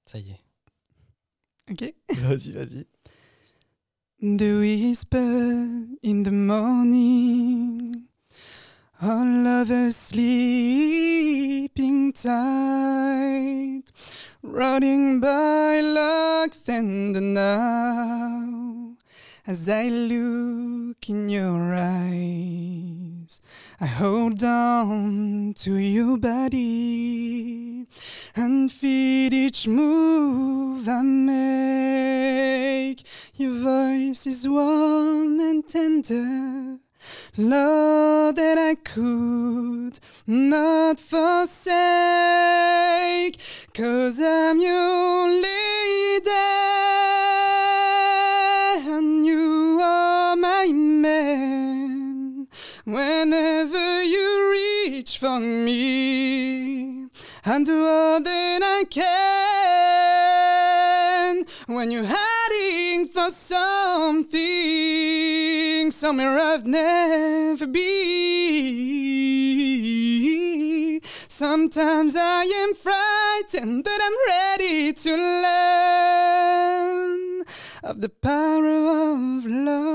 Ça y est. Ok. Vas-y. The whisper in the morning, all of us sleeping tight, rotting by like thunder now. As I look in your eyes, I hold on to your body and feel each move I make. Your voice is warm and tender, love that I could not forsake, 'cause I'm your lady and you are my man. Whenever you reach for me, I'll do all that I can. When you're hiding for something, somewhere I've never been. Sometimes I am frightened, but I'm ready to learn of the power of love.